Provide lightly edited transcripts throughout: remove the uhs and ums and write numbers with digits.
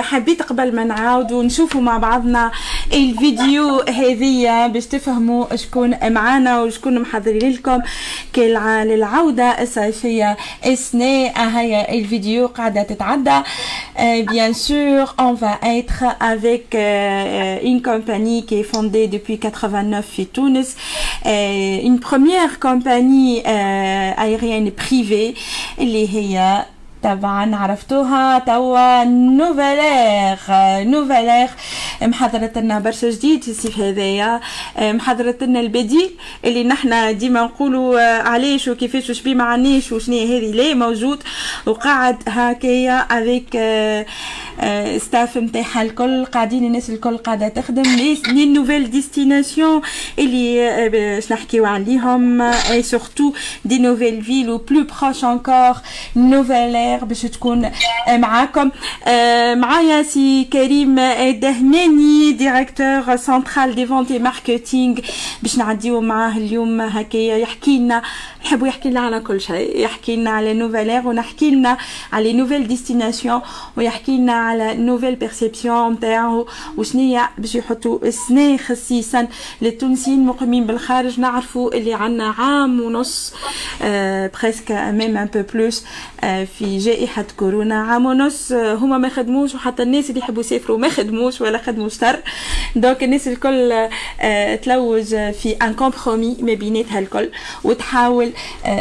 حبيت قبل ما نعاودوا نشوفوا مع بعضنا الفيديو هذية باش تفهموا شكون معانا وشكون محضرين لكم للعودة الصيفية السنة. هيا الفيديو قاعدة تتعدى. Bien sûr, on va être avec une compagnie qui est fondée depuis 89 في تونس, une première compagnie aérienne privée اللي هي طبعا عرفتوها توا نوفالير محضرت لنا برشا جديد في الصيف هذايا. محضرت لنا البديل اللي نحنا ديما نقولوا علاش وكيفاش وش بيه معناش وشنو هذه ليه موجود وقاعد هكايا افيك ستاف نتاعها الكل قاعدين الناس الكل قاعده تخدم لي نوفيل ديستيناسيون اللي باش نحكيو عليهم اي سورتو دي نوفيل فيل و بلو بروش انكور نوفالير باش تكون معاكم. معايا سي كريم الدهناني ديريكتور سنترال دي فونت اي ماركتينغ باش نعديو معاه اليوم هكايا يحكي لنا, نحبو يحكي لنا على كل شيء, يحكي لنا على نوفالير ونحكي لنا على نوفيل ديستيناسيون ويحكي لنا على نوفيل بيرسيبسيون نتاعو وشنيا باش يحطوا السنه خصيصا للتونسيين المقيمين بالخارج. نعرفوا اللي عندنا عام ونص بريسك ميم ان بو بلوس في جائحة كورونا, عام ونص هما ما خدموش وحتى الناس اللي يحبوا يسافروا ما خدموش ولا خدموا شتر. دونك الناس الكل تلوج في ان كومبرومي ما بيناتها الكل وتحاول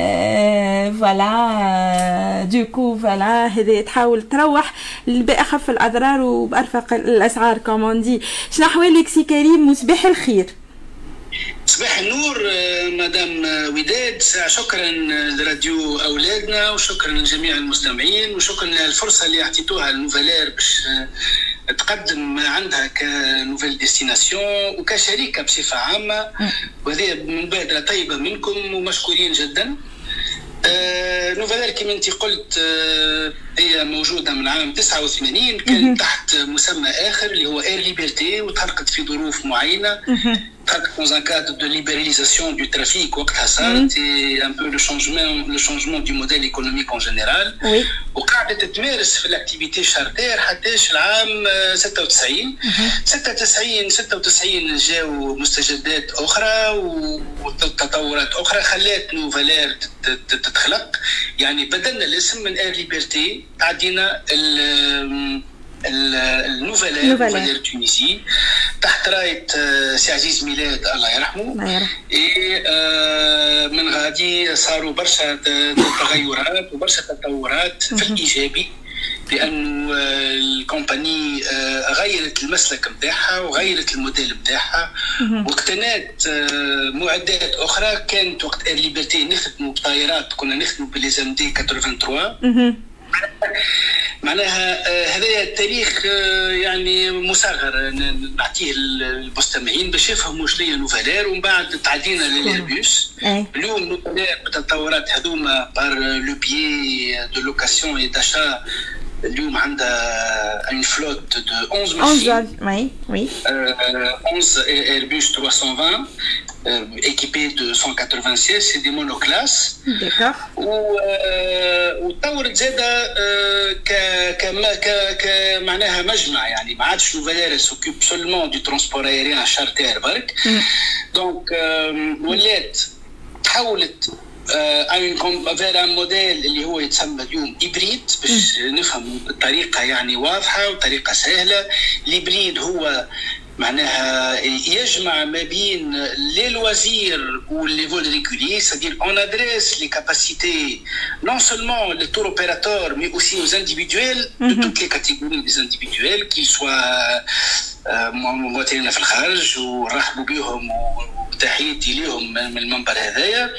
فوالا دوكو فوالا هذا تحاول تروح بأخف الأضرار وبأرفق الأسعار كوموندي. شنو أحوالك سي كريم وصباح الخير؟ صباح النور مدام وداد, شكرا لراديو أولادنا وشكرا لجميع المستمعين وشكرا للفرصة اللي أعطيتوها لنوفالير باش تقدم ما عندها كنوفيل ديستيناسيون وكشركة بصفة عامة, وهذه مبادرة طيبة منكم ومشكورين جدا. نوفالير كما انت قلت هي موجودة من عام 89, كانت تحت مسمى آخر اللي هو اير ليبرتي وتحققت في ظروف معينة. Dans un cadre de libéralisation du trafic, et un peu le changement du modèle économique en général. Oui. وقاعدة تمارس في الاكتيفيتي شارتير حتىش العام 96. 96 جاو مستجدات أخرى وتطورات أخرى خلات نوفالير تتخلق. يعني بدلنا الاسم من اير ليبرتي عدينا النوفالير تونسي تحت راية سي عزيز ميلاد الله يرحمه. من غادي صاروا برشا تغيرات وبرشا تطورات في الإيجابي, لأنه الكومباني غيرت المسلك نتاعها وغيرت الموديل نتاعها واقتنات معدات أخرى. كانت وقت اير ليبرتي نخدموا بطائرات, كنا نخدموا بالليزام دي 83. معناها هذا التاريخ يعني مصغر نعطيه للمستمعين باش يفهموا شنو هي نوفالير, ومن بعد تعدينا للايربوس. اليوم نوفالير بالتطورات هذوما بار لو بيي دو لوكاسيون اي داشا اليوم عندها une flotte de 11 machines. Oui. 11 Airbus 320 équipés de 196, c'est des monoclasses. D'accord. وطورت زاده معناها مجمع, يعني ما عادش نوفالير سوكيب سولمون دو ترونسبور ايريان شارتير برك. دونك ولات تحولت فير ان موديل اللي هو يتسمى اليوم إبريد باش نفهم بطريقة يعني واضحة وطريقة سهلة. الإبريد هو معناها يجمع ما بين لي لوازير ولي فول ريغولي, c'est-à-dire on adresse les capacités non seulement les tour opérateurs mais aussi aux individuels de toutes les catégories des individuels qu'ils soient مواطنين في الخارج ونرحبوا بهم وتحياتي لهم من المنبر هذايا,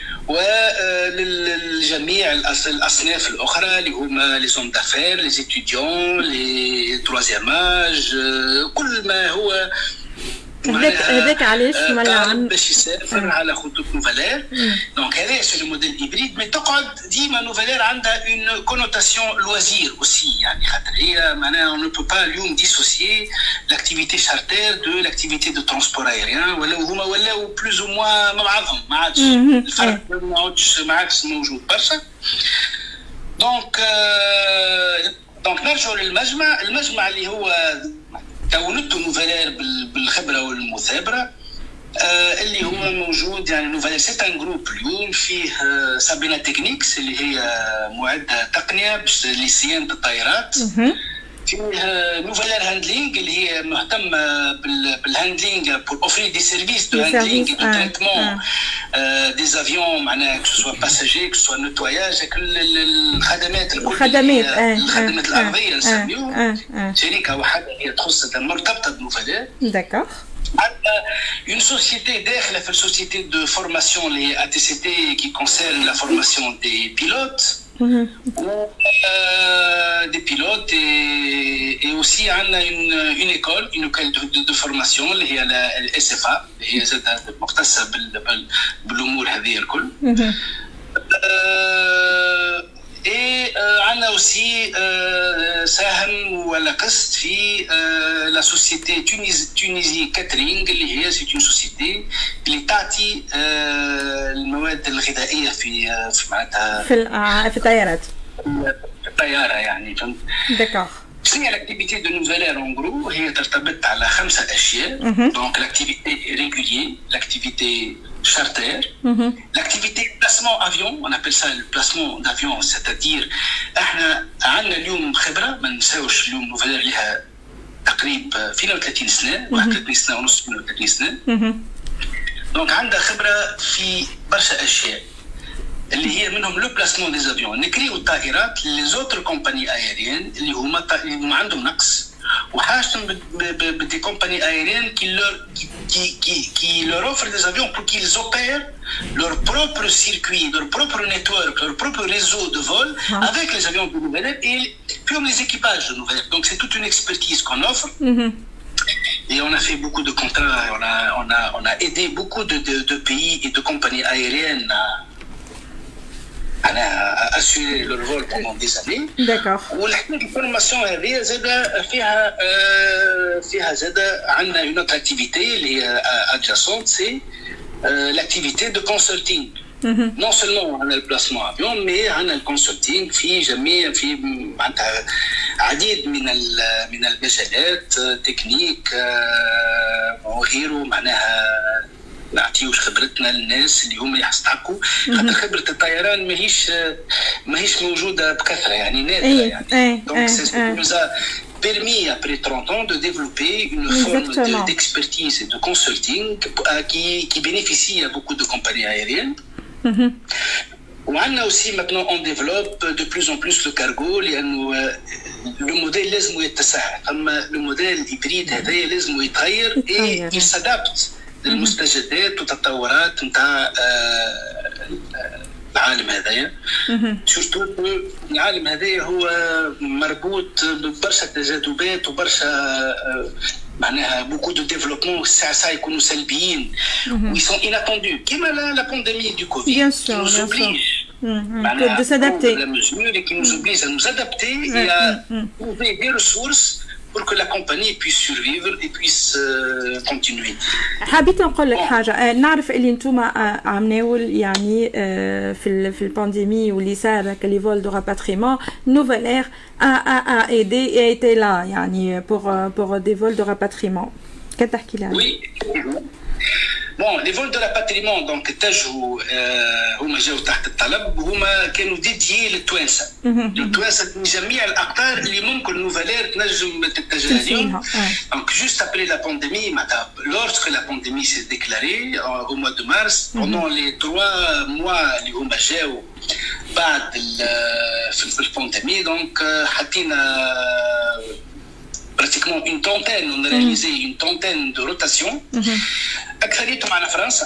وللجميع الأصناف الأخرى اللي هما لي زوم دافير, لي ستوديون, لي تروازيام اج, كل ما هو هذاك علاش طالب باش يسافر على خطوط نوفالير. دونك هذا سي لو موديل هيبريد, مي تقعد ديما نوفالير عندها اون كونوتاسيون لوازير اوسي, يعني خاطر هي معناها اون نو با اليوم ديسوسيي لاكتيفيتي شارتير دو لاكتيفيتي دو ترونسبور ايريان, ولا هما ولاو بلوز او موان مع بعضهم, ما عادش الفرق ما عادش موجود برشا. دونك دونك نرجعوا للمجمع. المجمع اللي هو كونته نوفالير بالخبره والمثابره، اللي هو موجود يعني نوفالير سيت ان جروب اليوم فيه سابينا تكنيكس اللي هي معده تقنيه باش لصيانه الطائرات، فيه نوفالير هاندلينغ اللي هي مهتمه بالهاندلينغ بور اوفري دي سيرفيس دو هاندلينغ دو تريتمون دي زافيون معناها كو سوا باساجي كو سوا نتواياج كل الخدمات الخدمات الارضيه نسميوها شركه واحده هي تخص مرتبطه بنوفالير. داكور. Une société داخله في السوسيتي دو فورماسيون اللي هي ATCT qui concerne la formation des pilotes des pilotes et aussi عندنا une école de formation اللي هي الSFA اللي هي زاد مختصه بالامور هذه الكل. عندنا aussi ساهم ولا قسط في لا سوسيتي تونيزي كاترينج اللي هي سي اون سوسيتي اللي تعطي المواد الغذائيه في معناتها في الطيارات. في الطياره يعني فهمت. داكوغ. شنو هي لاكتيفيتي دو نوفالير اون غرو؟ هي ترتبط على 5 اشياء. دونك لاكتيفيتي ريغوليي، لاكتيفيتي charter, l'activité placement avion, on appelle ça le placement d'avion, c'est-à-dire احنا عندنا اليوم خبره ما نساوش اليوم نوفالير لها تقريب 32 سنه، 31 سنه ونص، 32 سنه. دونك عندها خبره في برشا اشياء اللي هي منهم لو بلاسمون دي زافيون، نكريو الطائرات لي زوتر كومباني ايريان اللي هما عندهم نقص وحاجتهم بدي كومباني ايريان qui leur offrent des avions pour qu'ils opèrent leur propre circuit, leur propre network, leur propre réseau de vol avec les avions de Nouvelle-Air et puis les équipages de Nouvelle-Air. Donc c'est toute une expertise qu'on offre. Et on a fait beaucoup de contrats, on a aidé beaucoup de pays et de compagnies aériennes à assurer leur vol pendant des années. D'accord. والحكايه الفورماسيون هذه زاد فيها زاد عندنا une autre activité اللي هي adjacente, c'est l'activité de consulting. Non seulement on a le placement avion, mais on a le consulting في جميع في معناتها عديد من المجالات تكنيك وغيره، معناها نعطيوش خبرتنا للناس اللي هما يستحقوا، خاطر خبره الطيران ماهيش موجوده بكثره يعني نادره يعني. دونك سي nous a permis après 30 ans de développer une forme d'expertise et de consulting qui bénéficie à beaucoup de compagnies aériennes. وعندنا aussi maintenant on développe de plus en plus le cargo لانه لو موديل لازم يتسع، اما لو موديل الهيبريد هذايا لازم يتغير et il s'adapte للمستجدات والتطورات نتاع العالم هذايا. سورتو العالم هذايا هو مربوط ببرشا تجاذبات وبرشا معناها بوكو دو ديفلوبمون ساعة يكونوا سلبيين وي سون اناتوندو كيما لا بانديمي دو كوفيد بيان سور معناها de s'adapter la mesure qui nous oblige à nous adapter et à trouver des ressources pour que la compagnie puisse survivre et puisse continuer. حبيت نقول لك حاجه، نعرف اللي انتوما عمناول يعني في البانديمي واللي صار كلي فول دو راباتريمون Nouvelle-Air a aidé et était là يعني pour des vols de rapatriement. كتحكي لي عليه؟ Oui. Bon, les vols de rapatriement donc تجوا هما جاوا تحت الطلب وهما كانوا ديديي للتوانسه. التوانسه من جميع الاقطار اللي ممكن نوفالير تنجم تتجه لهم. Donc juste après la pandémie, lorsque la pandémie s'est déclarée au mois de mars, pendant les 3 mois اللي هما جاوا بعد في البانديمي donc حطينا pratiquement une trentaine, on a réalisé une trentaine de rotations. أكثريتهم على فرنسا.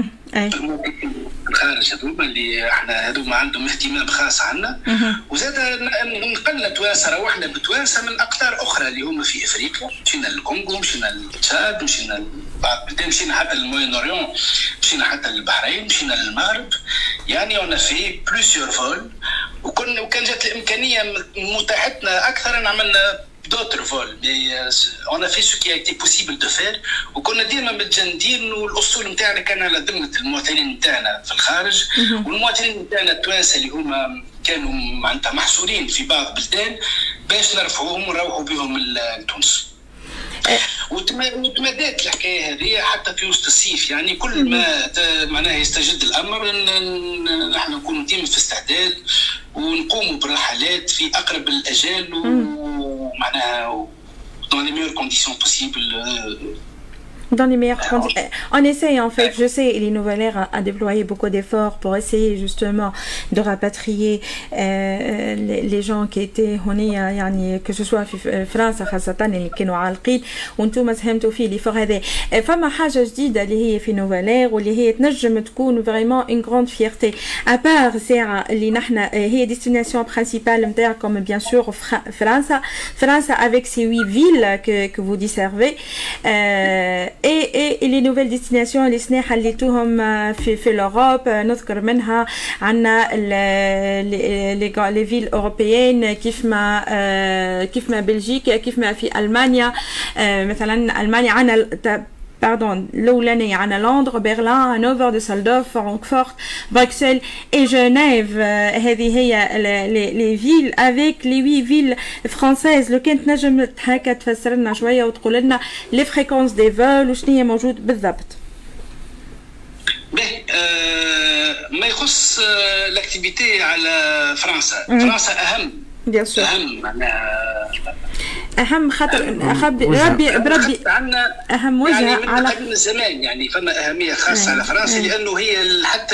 الخارج هذوما اللي احنا هذوما عندهم اهتمام خاص عنا. وزاد نقلنا توانسه، روحنا بتوانسه من أقطار أخرى اللي هما في أفريقيا، مشينا للكونغو، مشينا للتشاد، مشينا بعض البلدان، مشينا حتى للموين أوريون، مشينا حتى للبحرين، مشينا للمغرب. يعني on a fait plusieurs vols وكان جات الإمكانية متاحتنا أكثر، عملنا d'autres vols, mais on a fait ce qui a été possible de faire. وكنا ديما متجندين والاسطول نتاعنا كان على ذمه المواطنين نتاعنا في الخارج، والمواطنين نتاعنا التوانسه اللي هما كانوا معناتها محصورين في بعض البلدان باش نرفعوهم ونروحوا بهم لتونس. وتمدات الحكايه هذه حتى في وسط الصيف، يعني كل ما معناها يستجد الامر نحن نكونوا ديما في استعداد ونقوموا بالرحلات في اقرب الاجال ومعناها dans les meilleures conditions possibles. Dans les meilleures conditions. On essaye en fait, je sais, les Nouvelle Ère a déployé beaucoup d'efforts pour essayer justement de rapatrier les gens qui étaient هنا يعني que ce soit في فرنسا خاصة اللي كانوا عالقين وانتم ساهمتوا في l'effort هذا. فما حاجة جديدة اللي هي في Nouvelle Ère واللي هي تنجم تكون vraiment une grande fierté. À part ساعة اللي نحنا هي destination principale نتاعكم bien sûr فرنسا avec ses 8 villes que vous desservez. et les nouvelles destinations اللي سنا حليتوهم في l'Europe نذكر منها عنا les villes européennes كيف ما بلجيكا كيف ما في ألمانيا مثلا ألمانيا عنا l'Oulane, à Londres, Berlin, Hanovre, Düsseldorf, Francfort, Bruxelles et Genève. les villes avec les 8 villes françaises. لو كانت نجم هكا تفسر لنا شويه وتقول لنا les fréquences des vols وشنو هي موجود بالضبط. ما يخص الاكتيفيتي على فرنسا. فرنسا اهم. اهم معناها اهم خاطر بربي عندنا اهم وجهه يعني من على قديم الزمان، يعني فما اهميه خاصه على فرنسا لانه هي حتى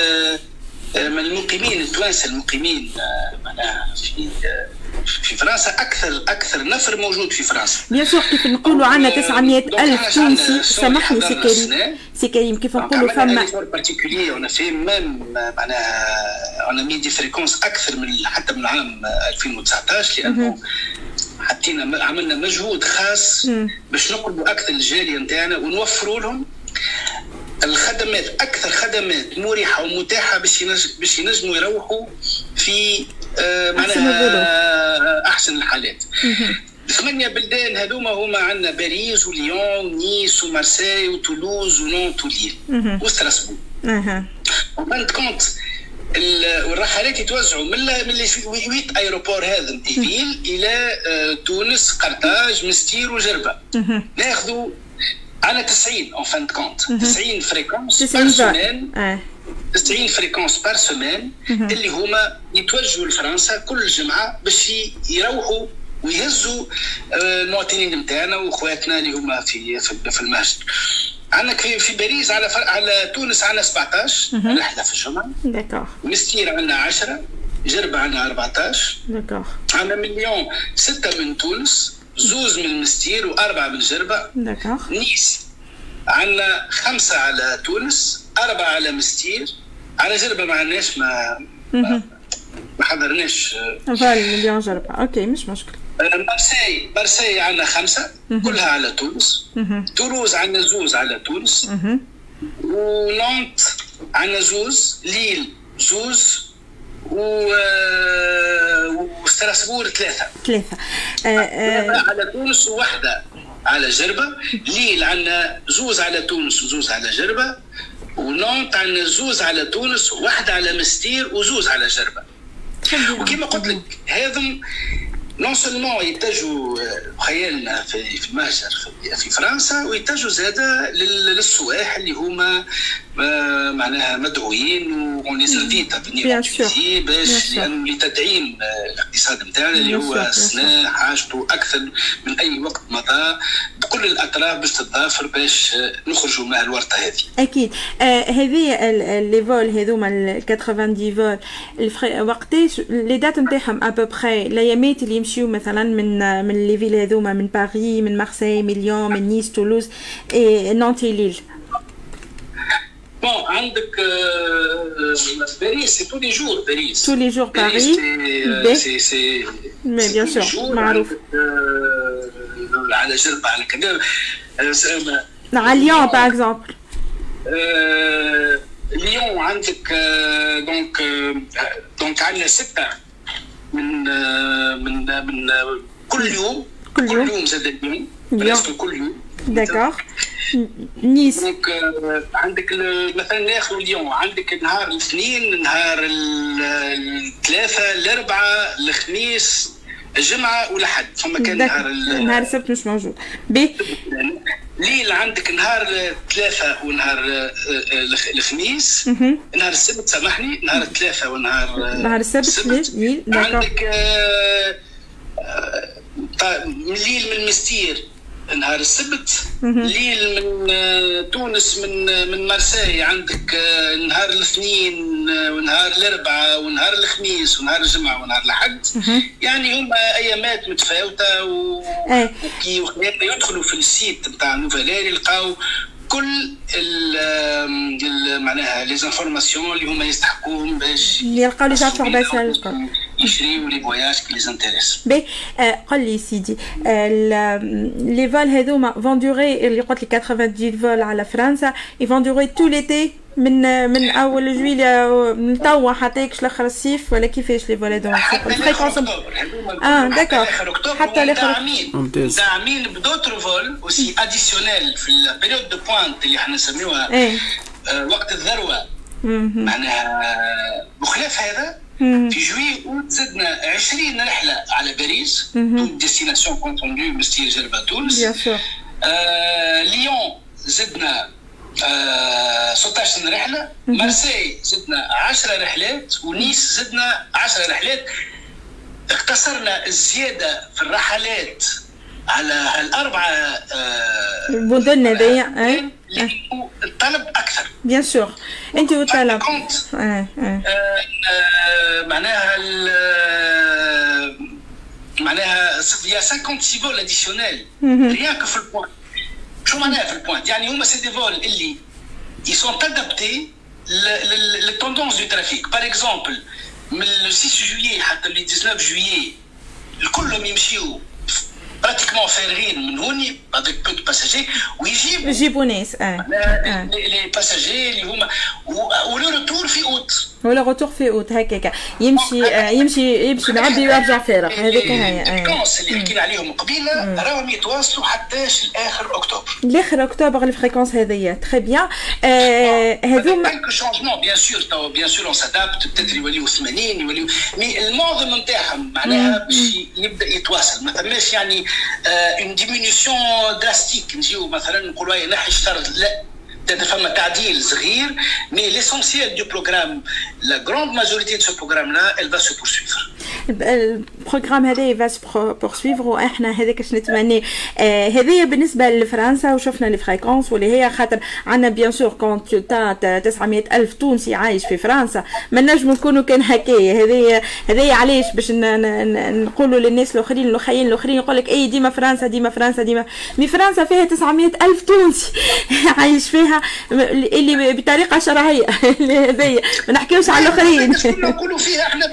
من المقيمين التوانسه المقيمين معناها في فرنسا اكثر نفر موجود في فرنسا. بيان سور كيف نقولوا عندنا 900,000 تونسي. سامحني سي كريم كيف نقولوا فما بارتيكولير اون في ميم معناها اون مي دي فريكونس اكثر من حتى من عام 2019 لانه حطينا عملنا مجهود خاص باش نقربوا اكثر الجاليه نتاعنا ونوفروا لهم الخدمات اكثر خدمات مريحه ومتاحه باش ينجموا يروحوا في معناها احسن الحالات. 8 بلدان هذوما هما عندنا باريس وليون نيس ومارسيل وتولوز ونونت وليل وستراسبورغ. وبانت كونت والرحلات يتوزعوا من لي 8 ايروبور هذا فيل الى تونس قرطاج مستير وجربه. ناخذوا على 90 اون فان كونت 90 فريكونس بار سيمين 90 فريكونس بار سيمين اللي هما يتوجهوا لفرنسا كل جمعه باش يروحوا ويهزوا المواطنين نتاعنا واخواتنا اللي هما في المهجر. عندك في باريس على تونس عندنا 17 رحله في الجمعه. داكور. مستير عندنا 10 جربه عندنا 14. داكور. عندنا من ليون 6 من تونس زوز من مستير واربعه من جربه. داكور. نيس عندنا 5 على تونس 4 على مستير. على جربه ما عندناش ما حضرناش فال مليون جربه. اوكي مش مشكل. مارسي عندنا 5 كلها على تونس. تولوز عندنا زوز على تونس. ونونت عندنا زوز. ليل زوز وستراسبورغ 3 على تونس وواحدة على جربة. ليل عندنا زوز على تونس وزوز على جربة. ونونت عندنا زوز على تونس وواحدة على مستير وزوز على جربة. وكما قلت لك هذم نون سولمون يتجهوا خيالنا في المهجر في فرنسا ويتجهوا زاده للسواح اللي هما معناها مدعوين ونزلفيتا بنيفيتي باش يعني لتدعيم الاقتصاد نتاعنا اللي هو السنة حاجته اكثر من اي وقت مضى بكل الاطراف باش تتضافر باش نخرجوا من الورطه هذه. اكيد. هذه لي فول هذوما 90 فول وقتاش لي دات نتاعهم ابوبخي الايامات اللي يمشيو مثلا من لي فيل هذوما من باريس من مارسيل من ليون من نيس تولوز نانتي ليل. Bon, عندك باريس سي تو لي جور باريس. تو لي جور باريس. سي مي بيان سور معروف. على جربة على كذا. على ليون باغ اكزومبل. ليون عندك دونك عندنا 6 من كل يوم كل يوم زاد اليوم بريسك كل يوم. داكوغ. نيس دونك عندك مثلا ناخذ اليوم عندك نهار الاثنين، نهار الثلاثة، الأربعة، الخميس، الجمعة والأحد. فما كان نهار السبت مش موجود. بي ليل عندك نهار الثلاثة ونهار الخميس. نهار السبت سامحني، نهار الثلاثة ونهار السبت ليل. عندك ليل من مستير نهار السبت، ليل من تونس من مارسي عندك نهار الاثنين ونهار الاربعاء ونهار الخميس ونهار الجمعه ونهار الاحد. يعني هما ايامات متفاوته وكي يدخلوا في السيت نتاع نوفالير يلقاو كل معناها لي زانفورماسيون اللي هما يستحقوهم باش يلقاو لي زانفورماسيون يشريوا لي فواياج كي لي زانتيريس. بي قل لي سيدي لي فول هذوما فون دوغي اللي قلت لي 90 فول على فرنسا يفون دوغي تو ليتي من اول جويليا من توا حتى يكش لاخر الصيف ولا كيفاش لي فول هذوما؟ الفريكونس داكور حتى لاخر ممتاز. داعمين بدوتر فول اوسي اديسيونيل في البيريود دو بوينت اللي احنا نسميوها وقت الذروه. معناها بخلاف هذا في جويي اوت زدنا 20 رحله على باريس، تو ديستيناسيون كونفوندو مستير جربه تونس. ليون زدنا 16 رحله، مارسي زدنا 10 رحلات، ونيس زدنا 10 رحلات. اقتصرنا الزياده في الرحلات على هالاربعه المدن هذيا الطلب اكثر بيان سور. انت والطلب معناها يا 56 فول اديسيونيل ريان كو في البوان. شو معناها في البوان؟ يعني هما سي دي فول اللي يسون ادابتي للتوندونس دو ترافيك. باغ اكزومبل من 6 جويي حتى ل 19 جويي الكلهم يمشيو براتيكمون فارغين من هوني افيك بو دو باساجي ويجيبوا ناس لي باساجي اللي هما ولو روتور في اوت ولا روتور في اوت هكاك يمشي معبي ويرجع فارغ. هذيك هي الفريكونس اللي حكينا عليهم قبيله راهم يتواصلوا حتىش لاخر اكتوبر. لاخر اكتوبر الفريكونس هذيا تري بيان. هذوما كلكو شونجمون بيان سور اون سادابت بتدري يوليو 80 يوليو مي المعظم نتاعهم معناها باش يبدا يتواصل. ما ثماش يعني اون ديمينيسيون دراستيك نجيو مثلا نقولوا ينحي الشطر، لا فما تعديل صغير. مي ليسونسيال دو بروغرام لا غروند ماجوريتي دو سو بروغرام لا elle va se poursuivre. البروغرام هذا va se poursuivre واحنا هذاك اش نتمنى. هذه بالنسبه لفرنسا وشفنا الفريكونس واللي هي خاطر عندنا بيان سور كونت تا 900,000 تونسي عايش في فرنسا ما نجموا نكونوا كان هكايا. هذه علاش باش نقولوا للناس الاخرين الاخرين يقول لك اي ديما فرنسا مي فرنسا فيها 900,000 تونسي عايش فيها اللي بطريقه شرعيه. هذه ما نحكيوش على الاخرين نقولوا فيها احنا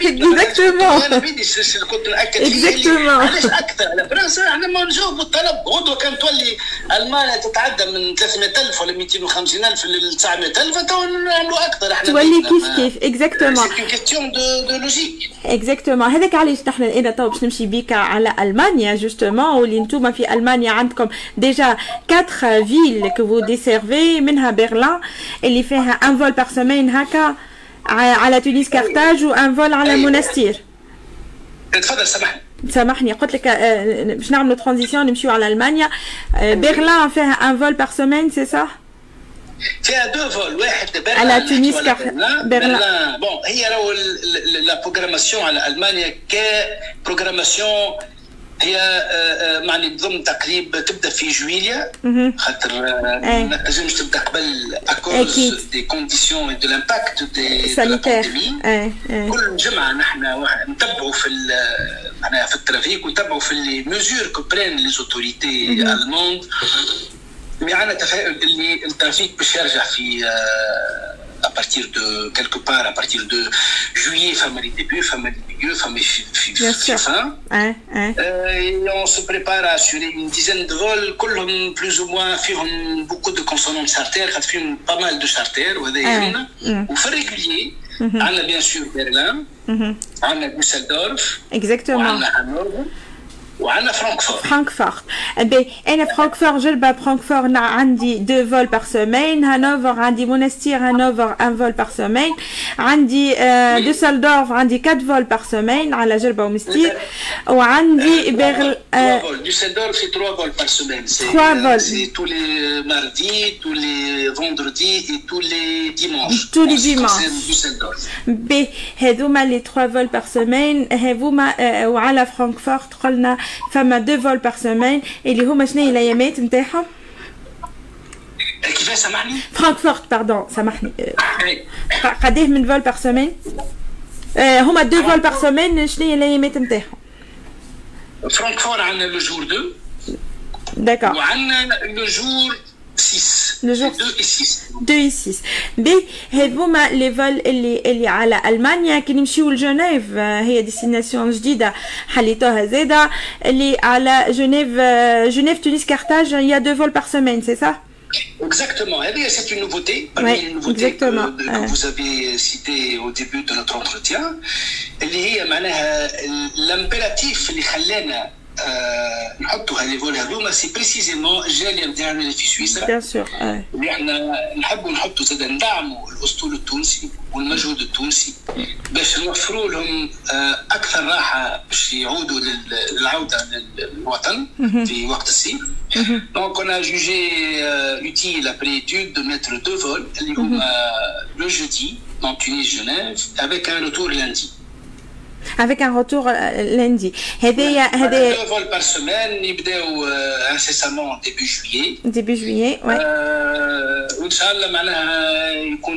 انا بيدي كنت ناكد فيه علاش اكثر على فرنسا. احنا ما نجاوبوا الطلب غدوه كان تولي المانيا تتعدى من 300,000 ولا 250,000 ل 900,000 تو نعملوا اكثر. احنا تولي كيف اكزاكتومون سي كيستيون دو لوجيك اكزاكتومون. هذاك علاش نحن انا تو باش نمشي بيك على المانيا جوستومون واللي نتوما في المانيا عندكم ديجا 4 فيل كو فو ديسيرفي منها برلين اللي فيها ان فول بار سيمين هكا على تونس كارتاج وان فول على منستير. تفضل سامحني قلت لك باش نعملوا ترانزيسيون نمشيو على المانيا. برلين فيها ان فول بار سيمين سي صح؟ فيها دو فول، واحد برلين على تونس برلين. بون هي راهو لا بروغراماسيون على المانيا كبروغراماسيون هي معني بضمن تقريب تبدا في جويليا خاطر ما تنجمش تبدا قبل اكوز دي كونديسيون دو لامباكت دي بانديمي. كل جمعه نحن نتبعوا في معناها في الترافيك ونتبعوا في لي ميزور كو برين لي اوتوريتي الموند. مي عندنا تفاؤل اللي الترافيك باش يرجع في à partir de quelque part à partir de juillet femme les débuts femme les milieux femme fin et on se prépare à assurer une dizaine de vols كلهم plus ou moins فيهم beaucoup de consonantes charters خاطر فيهم pas mal de charters وهذا يهمنا. وفي الريغوليي عندنا bien sûr برلين عندنا دوسلدورف exactement عندنا هانوفر وعندنا فرانكفورت. فرانكفورت انا فرانكفورت جربه فرانكفورت عندي 2 فول بار سيمين. هانوفر عندي مونستير هانوفر 1 فول بار سيمين. عندي دوسلدورف عندي 4 فول بار سيمين على جربه ومستير. وعندي بيرل دوسلدورف سي 3 فول بار سيمين. 3 فول سي تو لي ماردي تو لي فوندردي اي تو لي ديمانش. تو لي ديمانش هذوما لي 3 فول بار سيمين هذوما. وعلى فرانكفورت قلنا فما 2 فول بار سيمين اللي هما شنو هي الايامات نتاعهم؟ كيفاش سامحني؟ فرانكفورت باردون سامحني. قداه من فول بار سيمين؟ هما 2 فول بار سيمين شنو هي الايامات نتاعهم؟ فرانكفورت عندنا لو جور 2 داكور وعندنا لو جور 6 لو جور 2 et 6 2 et 6 بي هذوما لي فول اللي على المانيا كي نمشيو لجنيف هي ديستيناسيون جديده حليتوها زاده اللي على جنيف تونس كارتاج il y a 2 vols par semaine c'est ça? Exactement. Eh bien, c'est une nouveauté. Parmi les nouveautés que vous avez citées au début de notre entretien. اللي هي معناها l'impératif اللي خلانا نحطوا هذي فول هذوما سي بريسيزيمون الجاليه نتاعنا اللي في سويسرا. بيان سور. اللي احنا نحبوا نحطوا زاد ندعموا الاسطول التونسي والمجهود التونسي باش نوفروا لهم اكثر راحه باش يعودوا للعوده للوطن في وقت الصيف. Donc on a jugé utile après étude de mettre 2 vols اللي هما le jeudi dans Tunis Genève avec un retour lundi. Avec un retour lundi. هذايا 2 vols par semaine يبداو incessamment début juillet. Début juillet, ouais. وإن شاء الله معناها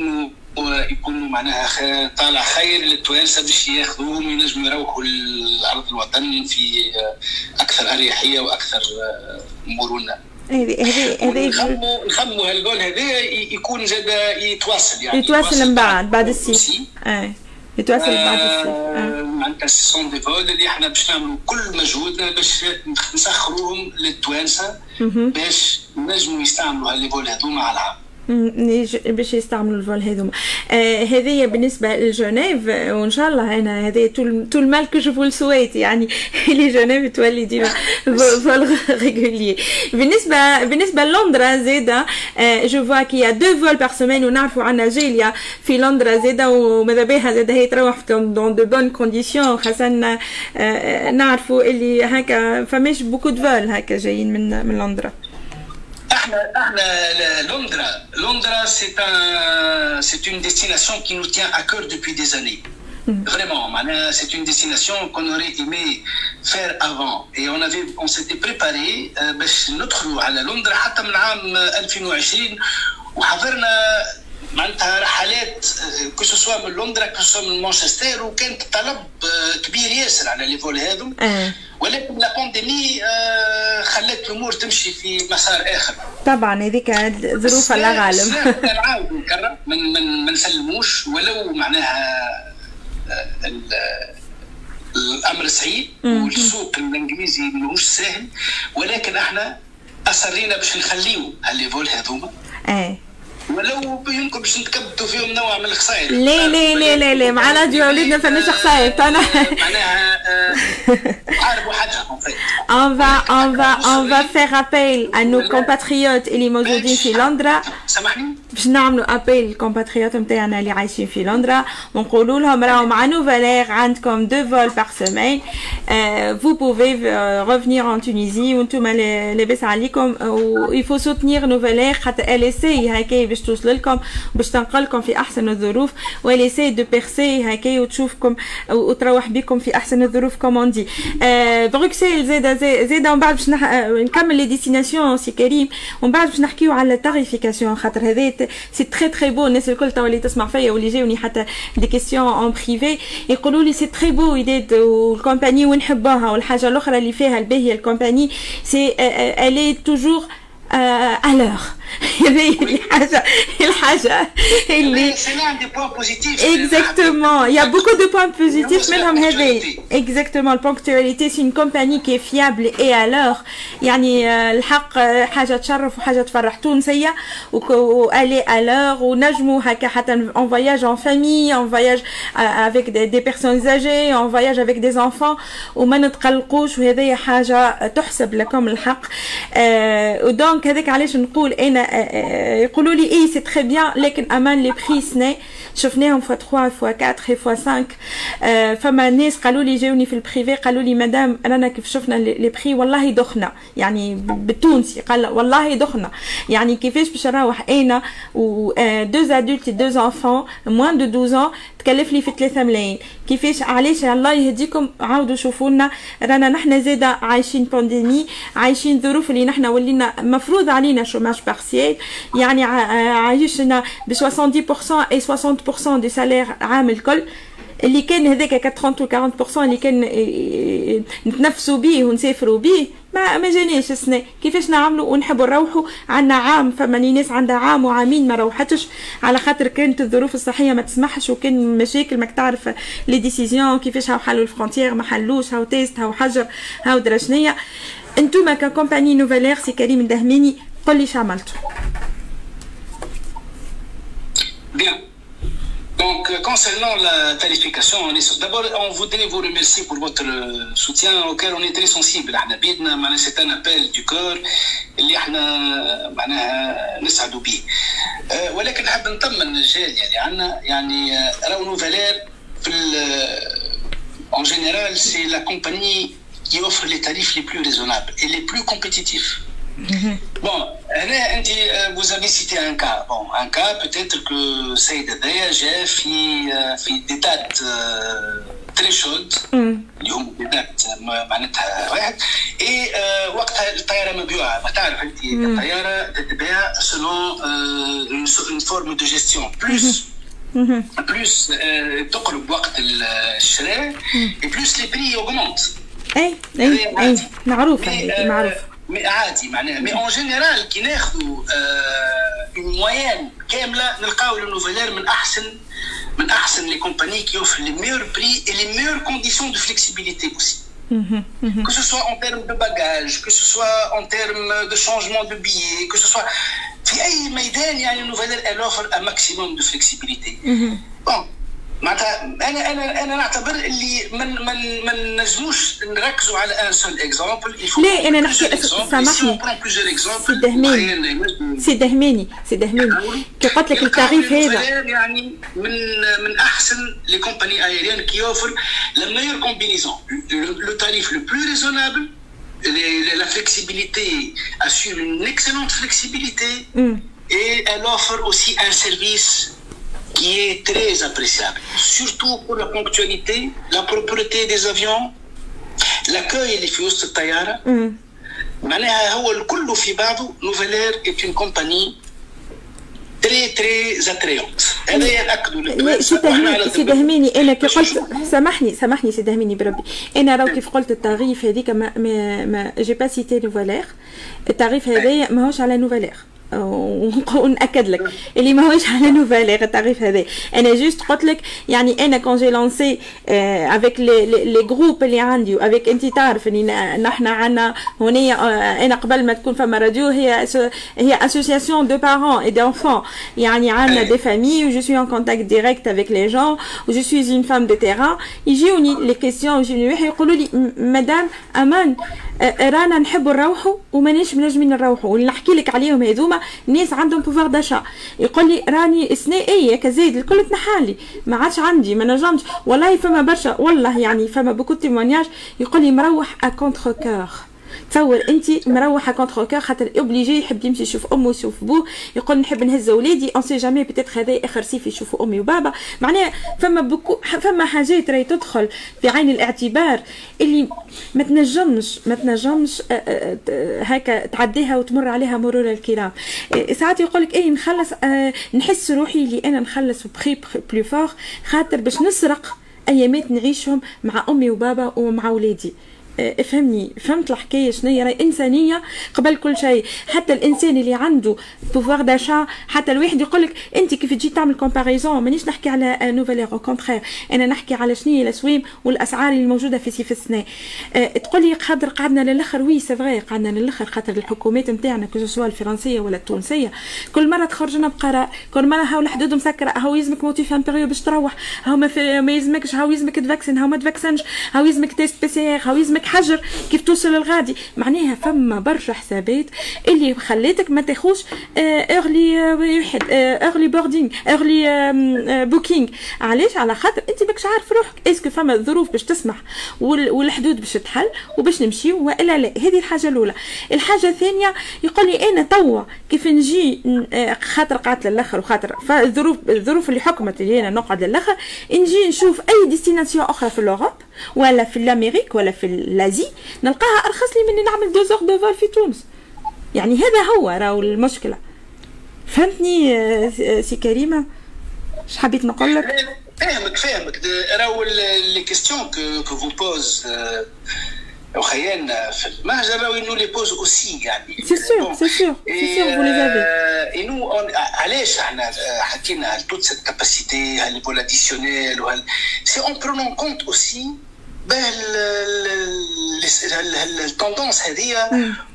يكونوا معناها طالع خير للتوانسه باش ياخذوهم ينجموا يروحوا لأرض الوطن في أكثر أريحية وأكثر مرونة. هذه نخموا هالجول هذا يكون زاد يتواصل يعني يتواصل من بعد الصيف. يتواصل بعد الصيف. معناتها سون دي فول اللي احنا باش نعملوا كل مجهودنا باش نسخروهم للتوانسه باش نجموا يستعملوا هاللي فول هذوما على العام. باش يستعملوا الفول هذوما. هذه بالنسبه لجنيف وان شاء الله انا هذه تو المال كو جو فول سويت يعني لي جنيف تولي ديما فول ريغولي. بالنسبه للندرا زاده جو فوا كي 2 فول بار سيمين ونعرفوا عندنا جيليا في لندرا زاده وماذا بها زاده هي تروح دون دو بون كونديسيون خاصه نعرفوا اللي هكا فماش بوكو دو فول هكا جايين من لندرا. Londres, c'est une destination qui nous tient à cœur depuis des années. Vraiment, c'est une destination qu'on aurait aimé faire avant. Et on s'était préparé باش ندخلوا على لندن حتى من عام 2020 وحضرنا معناتها رحلات كو سوا من لندن كو سوا من مانشستر وكانت طلب كبير ياسر على لي فول هذم. ولكن لا بانديمي خلت الامور تمشي في مسار اخر. طبعا هذيك ظروف الله غالب. نعاودوا نكرر ما نسلموش ولو معناها الامر صعيب والسوق الانجليزي ماهوش سهل ولكن احنا اصرينا باش نخليو هاللي فول هذوما. ولو يمكن باش نتكبدوا فيهم نوع من الخسائر. لا لا لا لا لا مع راديو وليدنا فماش خسائر انا معناها حاربوا حاجه on va faire appel à nos compatriotes اللي موجودين في لندن. سامحني باش نعملوا ابيل للكومباتريوت نتاعنا اللي عايشين في لندن ونقولوا لهم راهو مع نوفالير عندكم 2 فول بار سيمين vous pouvez revenir en Tunisie وانتم لاباس عليكم ويفو سوتنير نوفالير خاطر ال اسي هكا باش توصل لكم باش تنقلكم في احسن الظروف وال اسي دو بيرسي هكا وتشوفكم وتروح بكم في احسن الظروف كومون دي. بروكسل زاده ومن بعد باش نكمل لي ديستيناسيون سي كريم ومن بعد باش نحكيو على التاريفيكاسيون خاطر هذا سي تري تري بو. الناس الكل توا اللي تسمع فيا واللي جاوني حتى دي كيسيون اون بريفي يقولوا لي سي تري بو ايديد والكومباني ونحبوها والحاجه الاخرى اللي فيها الباهيه الكومباني سي الي توجور à l'heure. هذه الحاجه اللي exactement il y a beaucoup de points positifs منهم هذه exactement. البونكتواليتي سي une compagnie qui est fiable et à l'heure يعني الحق حاجه تشرف وحاجه تفرح تونسيه والي à l'heure ونجموا هكا حتى en voyage en famille en voyage avec des personnes âgées en voyage avec des enfants وما نتقلقوش وهذه حاجه تحسب لكم الحق. ودونك هذاك علاش نقول انا يقولوا لي اي سي تري بيان لكن امان لي بري سني شفناهم فوا 3 فوا 4 فوا 5. فما ناس قالوا لي جاوني في البريفي قالوا لي مدام رانا كيف شفنا لي بري والله دخنا يعني بالتونسي قال والله دخنا يعني كيفاش باش نروح انا و دو ادولت دو انفون موان دو 12 تكلف لي في 3 ملايين كيفاش علاش الله يهديكم عاودوا شوفوا لنا رانا نحن زاده عايشين بانديمي عايشين ظروف اللي نحن ولينا مفروض علينا شوماج بارسيال يعني عايشنا ب 70% اي 60% دي سالير عام الكل اللي كان هذاك 30 و 40% اللي كان نتنفسوا بيه ونسافروا بيه ما جانيش السنه كيفاش نعملوا ونحبوا نروحوا عندنا عام. فما ناس عندها عام وعامين ما روحتش على خاطر كانت الظروف الصحيه ما تسمحش وكان مشاكل ماك تعرف لي ديسيزيون كيفاش هاو حلوا الفرونتيير ما حلوش هاو تيست هاو حجر هاو درشنيه. انتوما ككومباني نوفيلير سي كريم الدهماني قل لي عملتوا. Bien. Donc, concernant la tarification, d'abord, on voudrait vous remercier pour votre soutien auquel on est très sensible. C'est un appel du cœur اللي احنا معناها نسعدوا به. ولكن نحب نطمن الرجال يعني عندنا يعني راهو نوفيلير في en général c'est la compagnie qui offre les tarifs les plus raisonnables et les plus compétitifs. Bon, vous avez cité un cas. Bon, un cas peut-être que Saïd Adaya جاء في des dates très chaudes. اليوم des dates معناتها واحد. et وقتها الطيارة مبيوعة. ما تعرف أنت الطيارة تتباع selon une forme de gestion. plus تقرب وقت الشراء et plus les prix augmentent. أي معروف معروف. عادي معناها مي اون جينيرال كي ناخذوا اون موين كامله نلقاو النوفيلير من احسن لي كومباني كي اوفر لي ميور بري اي لي ميور كونديسيون دو فليكسيبيليتي اوسي que ce soit en termes de bagages que ce soit en termes de changement de billets que ce soit في اي ميدان يعني النوفيلير elle offre un maximum de flexibilité. bon معناتها انا نعتبر اللي من نجموش نركزوا على ان سول اكزامبل. لا انا نحكي سامحني سي دهماني كي قلت لك التعريف هذا يعني من احسن لي كومباني ايريان كي اوفر لا ميور كومبينيزون لو تاريف لو بلو ريزونابل la flexibilité assure une excellente flexibilité et elle offre aussi un service qui est très appréciable, surtout pour la ponctualité, la propreté des avions, l'accueil اللي في وسط الطيارة. معناها هو الكل في بعضه. نوفيلير est une compagnie très très attrayante. هذا يأكدوا لك. سي دهماني أنا كي قلت سامحني سي دهماني بربي أنا راهو كيف قلت التعريف هذيك ما جي با سيتي نوفيلير. التعريف هذايا ماهوش على نوفيلير ونأكد لك اللي ماهوش على نوفيلير التعريف هذا. انا جوست قلت لك يعني انا كون جي لانسي افيك لي جروب اللي عندي وافيك انت تعرف اني نحن عندنا هنا انا قبل ما تكون فما راديو هي اسوسياسيون دو بارون اي دانفون يعني عندنا دي فامي و جو سوي ان كونتاكت ديريكت افيك لي جون و جو سوي اون فام دو تيران يجيوني لي كيسيون يجيوني يقولوا لي مدام امان رانا نحبوا نروحوا وماناش منجمين نروحوا واللي نحكي لك عليهم هذوما ناس عندهم بوفوار داشا. يقول لي راني السنه اي كزايد الكل تنحالي ما عادش عندي ما نجمش والله فما برشا والله يعني فما بوكو تيمونياج يقول لي مروح ا كونتر كور. تصور انت مروحه كونتر كور خاطر اوبليجي يحب يمشي يشوف امه يشوف بوه يقول نحب نهز ولادي اون سي جامي بيتيت هذا اخر صيف يشوفوا امي وبابا. معناها فما حاجات راهي تدخل في عين الاعتبار اللي ما تنجمش هكا تعديها وتمر عليها مرور الكرام. ساعات يقول لك اي نخلص نحس روحي اللي انا نخلص بخي بلو فور خاطر باش نسرق ايامات نعيشهم مع امي وبابا ومع ولادي. افهمني، فهمت الحكايه شنيا؟ راهي انسانيه قبل كل شيء. حتى الانسان اللي عنده بوفوار داشا، حتى الواحد يقول لك انت كيف تجي تعمل كومباريزون، مانيش نحكي على نوفالير، او كونترير انا نحكي على شنو هي الاسواق والاسعار اللي موجوده في سيف السنه. تقول لي قادر قعدنا للاخر، وي سي فغي قعدنا للاخر، خاطر الحكومات نتاعنا كو سوا الفرنسيه ولا التونسيه كل مره تخرج لنا بقرار، كل مره هاو الحدود مسكره، هاو يلزمك موتيف امبيريو باش تروح، هاو ما يلزمكش، هاو يلزمك تفاكسن، هاو ما تفاكسنش، هاو يلزمك تيست بي سي ار، هاو يلزمك حجر كيف توصل للغادي. معناها فما برشا حسابات اللي خليتك ما تاخوش ايرلي بوردينغ، ايرلي بوكينغ. علاش؟ على خاطر انت ماكش عارف روحك اسكو فما الظروف باش تسمح والحدود باش تحل وباش نمشي والا لا. هذه الحاجه الاولى. الحاجه الثانيه يقول لي انا توا كيف نجي، خاطر قعدت للاخر وخاطر الظروف اللي حكمت اللي انا نقعد للاخر، نجي نشوف اي ديستيناسيون اخرى في الاوروب ولا في الامريك ولا في الازي نلقاها ارخص لي من نعمل 2 زور دو فول في تونس. يعني هذا هو راهو المشكله. فهمتني سي كريمه اش حبيت نقول لك؟ فاهمك راهو لي كيستيون كو فو بوز وخيالنا في المهجر راهو نو لي بوز اوسي يعني. سي سور فو لي زافي. اي نو علاش احنا حكينا على توت سيت كاباسيتي هال فولاديسيونيل وهال سي اون برونون كونت اوسي التوندونس هذه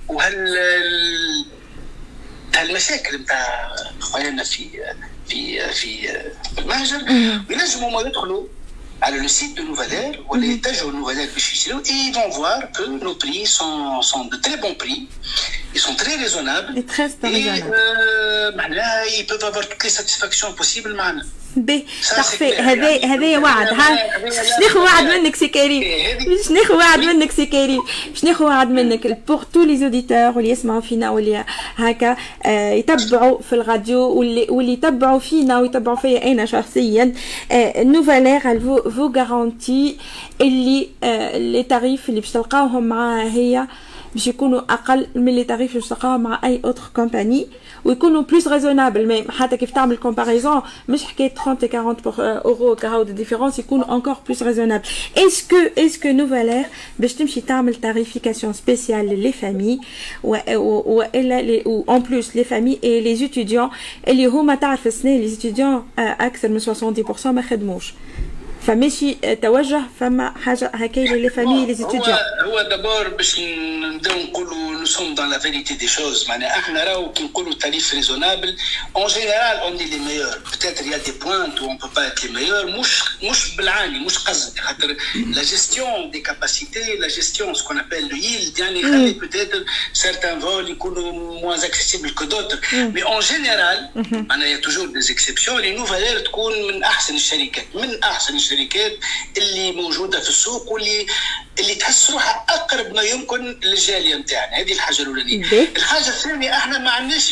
هالمشاكل نتاع خويانا في المهجر. ينجموا ما يدخلوا على لو سيت دو نوفالير ولا يتجهوا لنوفالير باش يشريو اي فون فوار كو نو بري سون دو تري بون بري، ils sont très raisonnables et معناها ils peuvent avoir toutes les satisfactions possibles معنا. باهي صافي. هذايا وعد. باش ناخذ وعد منك سي كريم، باش ناخذ وعد منك سي كريم، باش ناخذ وعد منك بور تو لي زوديتور واللي يسمعوا فينا واللي هكا يتبعوا في الراديو واللي يتبعوا فينا ويتبعوا فيا انا شخصيا. نوفالير فو غارونتي اللي لي تاريف اللي باش تلقاوهم معاها هي باش يكونوا اقل من لي تاريف باش تلقاوهم مع اي اوتر كومباني، ويكونوا بلوس ريزونابل. ميم حتى كيف تعمل كومباريزون مش حكايه 30 و 40 اورو كهو دو ديفيرونس، يكونوا انكور بلوس ريزونابل. اسكو نوفالير باش تمشي تعمل تاريفيكاسيون سبيسيال للي فامي والا اون بلوس لي فامي اي لي ستوديون اللي هما تعرف السنه لي ستوديون اكثر من 70% ما خدموش، فماشي توجه فما حاجه هكايا لي فامي لي ستوديون. هو دابور باش نبداو نقولوا نو سوم دون لا فيريتي دي شوز. معناها احنا راهو كي نقولوا تاريف ريزونابل اون جينيرال اون لي ميور، بتاتر يا دي بوينت اون بو با ات لي ميور، مش بالعاني مش قصد، خاطر لا جيستيون دي كاباسيتي لا جيستيون سكون ابل لو ييلد يعني يخلي بتاتر سيرتان فول يكونوا موان اكسيسيبل كو دوتر، مي اون جينيرال معناها توجور دي اكسبسيون. لي نوفالير تكون من احسن الشركات، من احسن الشركات اللي موجوده في السوق واللي تحس روحها اقرب ما يمكن للجاليه نتاعنا. هذه الحاجه الاولانيه. الحاجه الثانيه احنا ما عندناش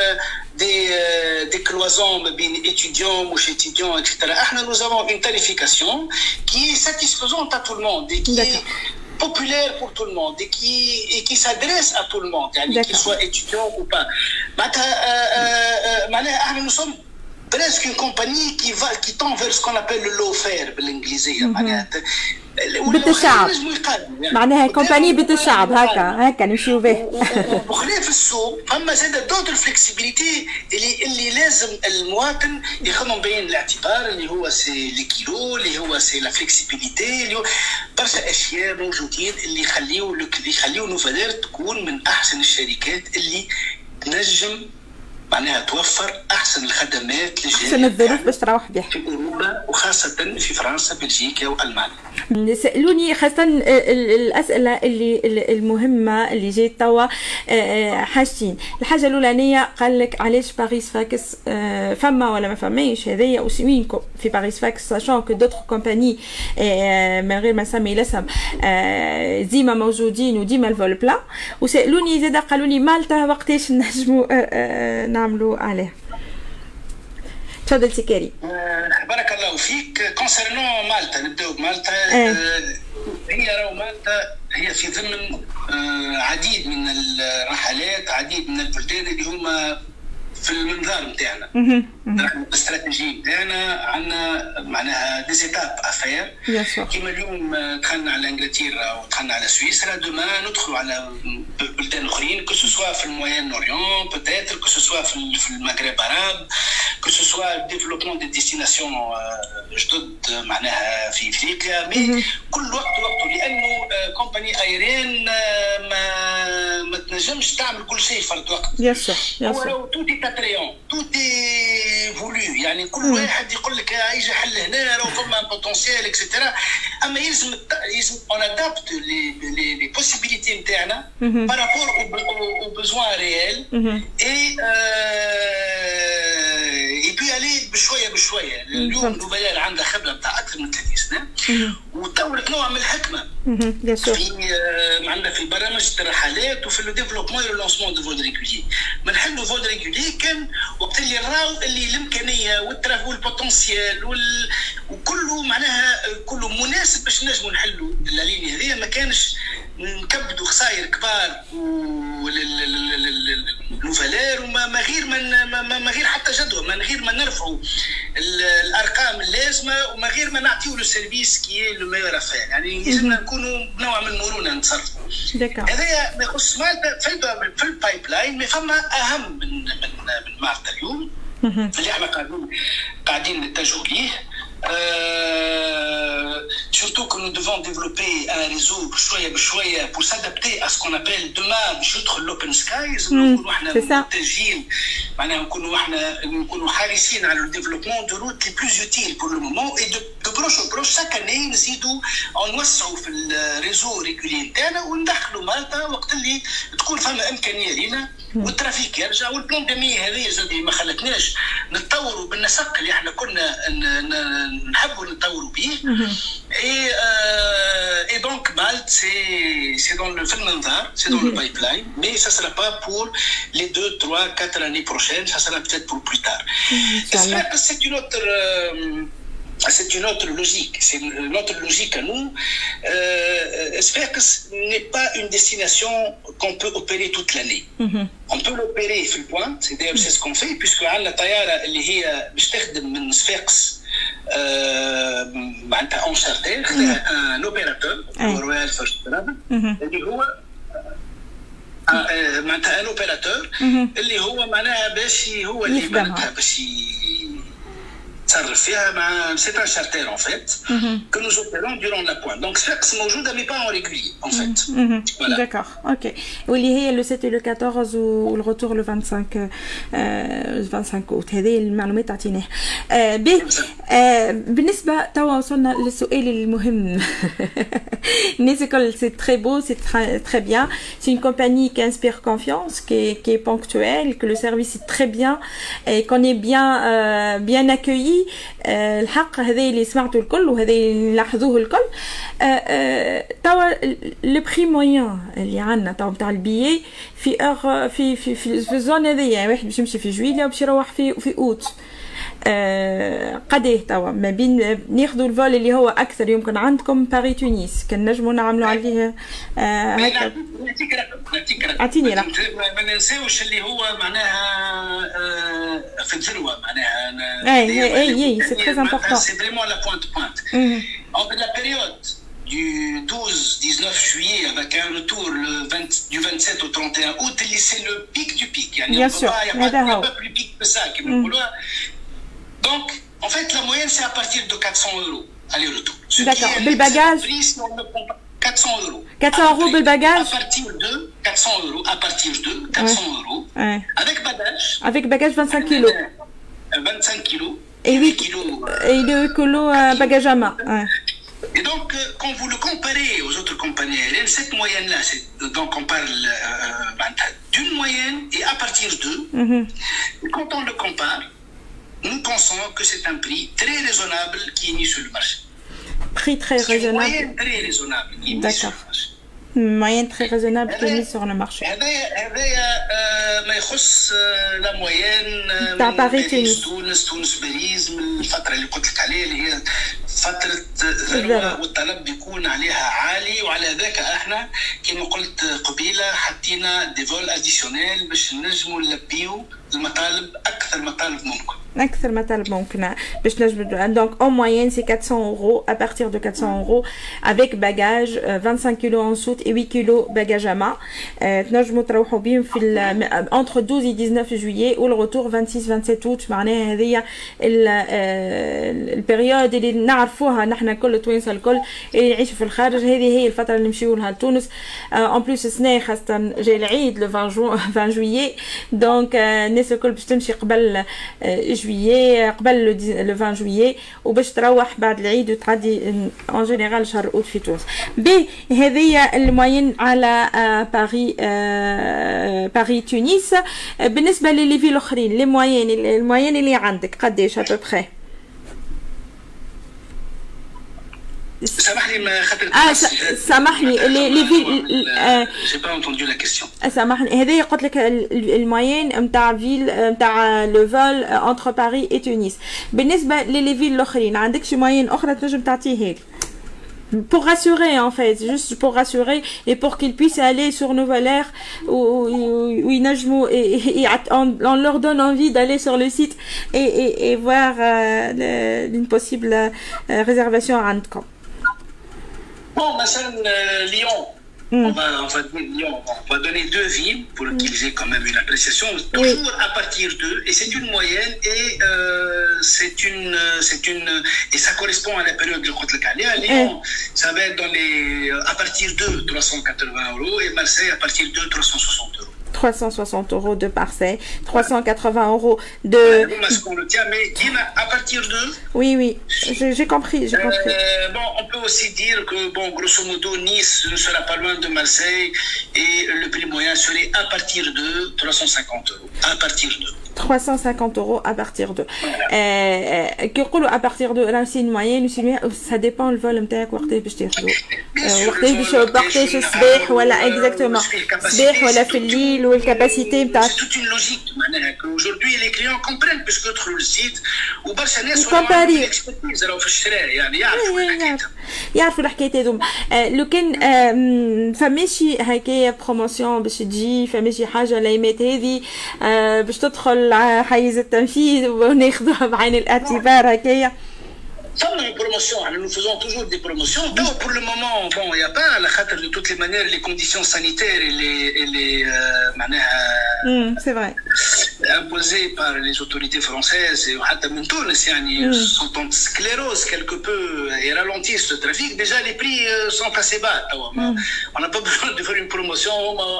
دي كلوازون ما بين étudiants مش étudiants etc. احنا nous avons une tarification qui est satisfaisante à tout le monde et qui est populaire pour tout le monde et qui s'adresse à tout le monde يعني qu'il soit étudiant ou pas. معناها احنا nous sommes presque une compagnie qui tend vers ce qu'on appelle le low fare بالانجليزيه. معناها بيت الشعب، معناها كومباني بيت الشعب هكا نمشيو به. وخلاف السوق اما زاد دوتر فليكسيبيليتي اللي لازم المواطن ياخذهم بعين الاعتبار، اللي هو سي لي كيلو، اللي هو سي لا فليكسيبيليتي، اللي هو برشا اشياء موجودين اللي يخليو نوفالير تكون من احسن الشركات اللي تنجم معناها توفر احسن الخدمات للجاليه، احسن الظروف باش تروح بها في اوروبا وخاصه في فرنسا بلجيكا والمانيا. سالوني خاصه الاسئله اللي المهمه اللي جات توا حاجتين. الحاجه الاولانيه قال لك علاش باريس فاكس فما ولا ما فماش؟ هذايا وسوينكم في باريس فاكس ساشون كو دوتر كومباني من غير ما نسمي الاسم ديما موجودين وديما الفول بلا. وسالوني زاد قالوا لي مالطا وقتاش نجموا نعملوا عليه. تفضل سي كريم. بارك الله فيك. كونسيرنون مالطا، نبداو بمالطا. هي راهو مالطا هي في ضمن عديد من الرحلات، عديد من البلدان اللي هما في المنظار نتاعنا. الاستراتيجيه نتاعنا عندنا معناها دي زيتاب افير. كيما اليوم دخلنا على انجلترا ودخلنا على سويسرا، دوما ندخلوا على بلدان اخرين، كو سوا في الموين اوريون بوتيتر، كو سوا في المغرب عرب، كو سوا ديفلوبمون دي ديستيناسيون جدد معناها في افريقيا. مي كل وقت وقته، لانه كومباني ايرين ما تنجمش تعمل كل شيء فرد وقت. هو لو توتي تاتريون توتي فولو، يعني كل واحد يقول لك يجي حل هنا لو فما بوتونسيال اكسترا، اما يلزم اون ادابت لي بوسيبيليتي نتاعنا بارابور او بوزوان ريال اي بي الي بشويه بشويه. اليوم نوفيال عندها خبره نتاع اكثر من 30 سنه وطورت نوع من الحكمه في عندنا في برامج الرحلات وفي لو ديفلوبمون و لونسمون دو فول ريغولي. ما نحلوا فول ريغولي كان وقت اللي نراو اللي الامكانيه والبوتنسيال وكله معناها كله مناسب باش نجموا نحلوا الليني هذه. ما كانش نكبدوا خسائر كبار وللفالير وما غير ما غير حتى جدوى، من غير ما نرفعوا الارقام اللازمه وما غير ما نعطيو له سيرفيس كي لو ميور افير. يعني لازمنا نكونوا بنوع من المرونه نتصرفوا. هذايا ما يخص مالطا في البايب لاين. ما فما اهم من مالطا اليوم اللي احنا قاعدين نتجهوا ليه. Surtout que nous devons développer un réseau بشوية بشوية pour s'adapter à ce qu'on appelle demain باش يدخل l'open skies. نكونوا احنا متجهين معناها نكونوا حريصين على الديفلوبمون دو روت لي بلوز يوتيل بور لو مومون اي دو بروش او بروش شاك اني نزيدوا او نوسعوا في الريزو ريغولي نتاعنا وندخلوا مالطا وقت اللي تكون فما امكانيه لينا والترافيك يرجع. والبلان دمي هذه زاد ما خلتناش نتطوروا بالنسق اللي احنا كنا نحبوا نتطوروا به. Et donc Malte, c'est dans le المنظار, c'est dans le pipeline, mais ça sera pas pour les 2, 3, 4 années prochaines, ça sera peut-être pour plus tard. J'espère que c'est une autre logique, c'est notre logique à nous. J'espère que ce n'est pas une destination qu'on peut opérer toute l'année. On peut l'opérer في البوان, c'est ce qu'on fait, puisque عندنا طيارة اللي هي باش تخدم من صفاقس معناتها اون شارتير خذاها ان اوبيراتور رويال فيرست ترافل اللي هو معناتها ان اوبيراتور اللي هو معناها باش هو اللي معناتها باش تصرف فيها مع سي ان شارتير ان فيت que nous opérons durant la pointe. Donc c'est موجوده mais pas en régulier en fait. Voilà. D'accord. OK. واللي هي لو 7 و لو 14 والرetour لو 25 août. هذه المعلومات عطيناها. بالنسبه توا وصلنا للسؤال المهم. الناس الكل سي تري بو سي تري بيان. C'est une compagnie qui inspire confiance, qui est ponctuelle, que le service est très bien et qu'on est bien accueilli. الحق هذا اللي سمعته الكل وهذا اللي لاحظوه الكل. توا لو بري موين اللي عندنا توا نتاع البيي في اور في الزون هذيا، واحد باش يمشي في جويليا وباش يروح في اوت، قديه توا ما بين ناخذوا الفول اللي هو اكثر يمكن عندكم باري تونس كان نجموا نعملوا عليه هكا. اعطيني رقم. ما ننساوش اللي هو معناها في الذروه معناها اي سي تري امبورطون. سي فريمون لا بوينت entre la période du 12-19 juillet avec un retour du 27 au 31 août, c'est le pic du pic. Il n'y a pas plus pic que ça. Donc, en fait, la moyenne, c'est à partir de 400 € aller-retour. D'accord. Le bagage 400 €. 400 € le bagage. À partir de 400 €. À partir de 400 €. Ouais. Avec bagage. Avec bagage 25 kilos. 25 kilos. Et 8 kilos. Et 2 kilos bagage à main. Ouais. Et donc, quand vous le comparez aux autres compagnies aériennes, cette moyenne-là, donc on parle d'une moyenne et à partir de, quand on le compare, nous pensons que c'est un prix très raisonnable qui est mis sur le marché. Prix très raisonnable. Une moyenne très raisonnable qui est mise sur le marché. Une moyenne très raisonnable qui est mise sur le marché. ما يخص لا موين تاع باريس تونس باريس من الفتره اللي قلت لك عليها اللي هي فتره ذروه والطلب بيكون عليها عالي، وعلى ذاك احنا كما قلت قبيله حطينا دي فول اديسيونيل باش نجموا نلبيو المطالب اكثر مطالب ممكن. أكثر مطالب ممكنة باش نجبدوا. Donc en moyenne c'est 400 € à partir de 400 € avec bagage 25 kg en soute et 8 kg bagage à main. تنجموا تروحوا بهم في entre 12 et 19 juillet ou le retour 26-27 août. معناها هذه البريود اللي نعرفوها نحن كل التوانسه الكل اللي يعيشوا في الخارج. هذه هي الفتره اللي نمشيو لها لتونس. en plus السنه خاصه جاي العيد le 20 juillet. donc الناس الكل باش تمشي قبل جويي قبل لو 20 جويي وباش تروح بعد العيد وتعدي ان جينيرال شهر اوت في تونس. بي هذه الموين على باري تونس. بالنسبه لي فيل الاخرين لي موين اللي عندك قداش ا بوبري؟ سامحني ما خاطر سامحني لي فيل جي با انتوندو لا كيسيون. سامحني هذايا قلت لك الموين نتاع فيل نتاع لو فول انتر باريس اي تونس. بالنسبه لي فيل الاخرين عندك شي موين اخرى تنجم تعطيه هيك pour rassurer en fait, juste pour rassurer et pour qu'ils puissent aller sur Nouvelle Air où ils نجموا et on leur donne envie d'aller sur le site et voir une possible réservation عندكم. Bon, مثلا Lyon. On va donner deux villes pour qu'ils aient quand même une appréciation, toujours à partir d'eux, et c'est une moyenne et et ça correspond à la période de Côte-le-Calais. Lyon, ça va être à partir de 380 € et Marseille à partir de 360 €. 360 € de Marseille, 380 € de... On le tient, mais à partir de... Oui, j'ai compris, bon, on peut aussi dire que, bon, grosso modo, Nice ne sera pas loin de Marseille et le prix moyen serait à partir de 350 €. À partir de... 350 € à partir de. كي يقولوا à partir de راه سي موين ça dépend le vol نتاعك وقتاش باش تاخذو. وقتاش الصباح ولا اكزاكتومون الصباح ولا في الليل والكاباسيتي نتاع. C'est toute une logique معناها qu'aujourd'hui les clients comprennent puisque يدخلوا للسيت وبرشا ناس راهو في الشراء يعني يعرفوا الحكايات هذوما. لو كان فماشي هكايا بروموسيون باش تجي فماشي حاجه الايامات هذه باش تدخل حيز التنفيذ وناخذوها بعين الاعتبار هكايا. Comme une promotion, nous faisons toujours des promotions. Donc, pour le moment, bon, il n'y a pas, à la khater de toutes les manières, les conditions sanitaires et les c'est vrai. Imposées par les autorités françaises et même Tunis, sont en sclérose quelque peu et ralentissent ce trafic. Déjà, les prix sont assez bas. On n'a pas besoin de faire une promotion.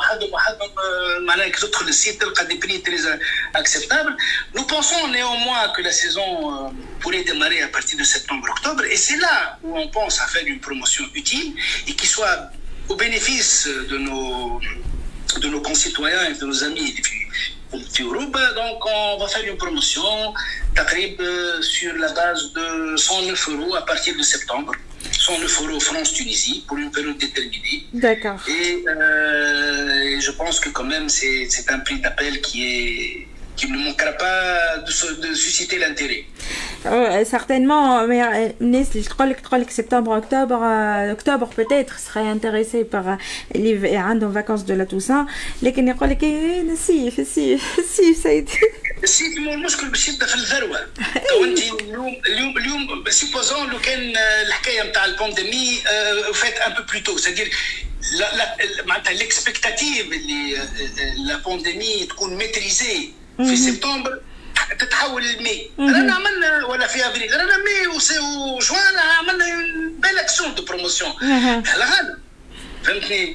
Le site a des prix très acceptables. Nous pensons néanmoins que la saison pourrait démarrer à partir de septembre-octobre, et c'est là où on pense à faire une promotion utile et qui soit au bénéfice de nos concitoyens et de nos amis d'Europe. Donc on va faire une promotion sur la base de 109 € à partir de septembre. 109 € France-Tunisie pour une période déterminée. D'accord. Et je pense que quand même c'est un prix d'appel qui ne manquera pas de susciter l'intérêt. Certainement, mais الناس اللي تقول لك سبتمبر اكتوبر peut-être serait intéressé par اللي عندهم vacances de la Toussaint. لكن يقول لك الصيف سيدي الصيف مو المشكل باش يبدا في الذروه. وانت اليوم سيبوزون لو كان الحكايه نتاع البانديمي فات ان بو بلو تو سادير معناتها ليكسبكتاتيف اللي لا بانديمي تكون ميتريزي في سبتمبر تتحول لمي. رانا عملنا ولا في افريل رانا مي وجوان عملنا بيل اكسيون دو بروموسيون على غالب فهمتني.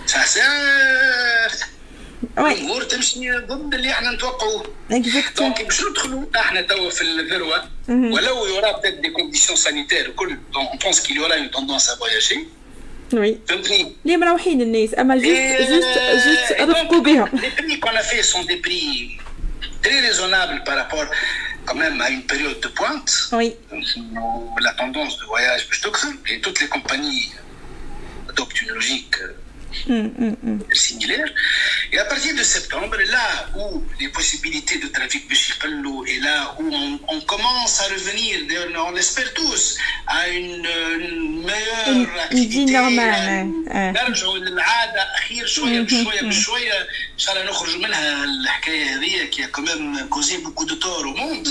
الامور تمشي ضد اللي احنا نتوقعوه. دونك باش ندخلوا احنا توا في الذروه ولو يورا بتات دي كونديسيون سانيتير وكل دونك اون بونس كيل يورا اون توندونس ا فواياجي. Oui. فهمتني. اللي مروحين الناس اما جوست رفقوا بهم. Les prix qu'on a fait sont des prix très raisonnables par rapport quand même à une période de pointe. Oui. La tendance de voyage et toutes les compagnies adoptent une logique similaire. Et à partir de septembre, là où les possibilités de trafic de Chipalou et là où on commence à revenir, on l'espère tous, à une meilleure نجي نورمال نرجعوا للعاده اخير شويه بشويه بشويه ان شاء الله نخرجوا منها الحكايه هذه كي كمان كوزي بوكو دو تور او موند.